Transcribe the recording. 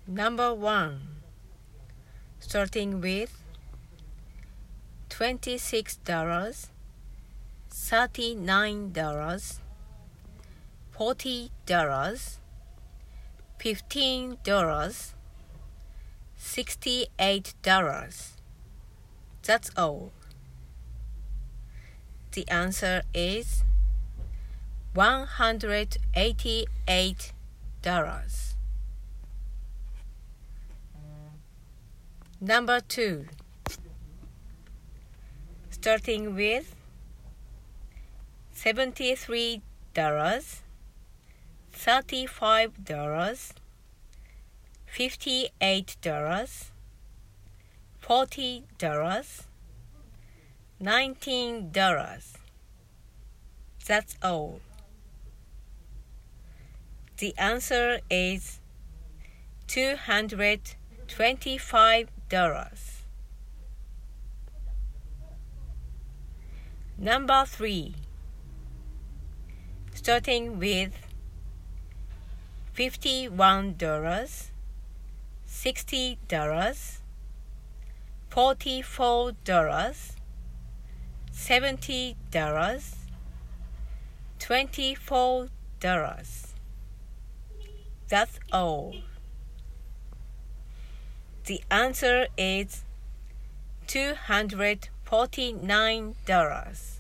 Number 1, starting with $26, $39, $40, $15, $68. That's all. The answer is $188. Number 2, starting with $73, $35, $58, $40, $19. That's all. The answer is $225. Number 3, starting with $51, $60, $44, $70, $24. That's all. The answer is $249.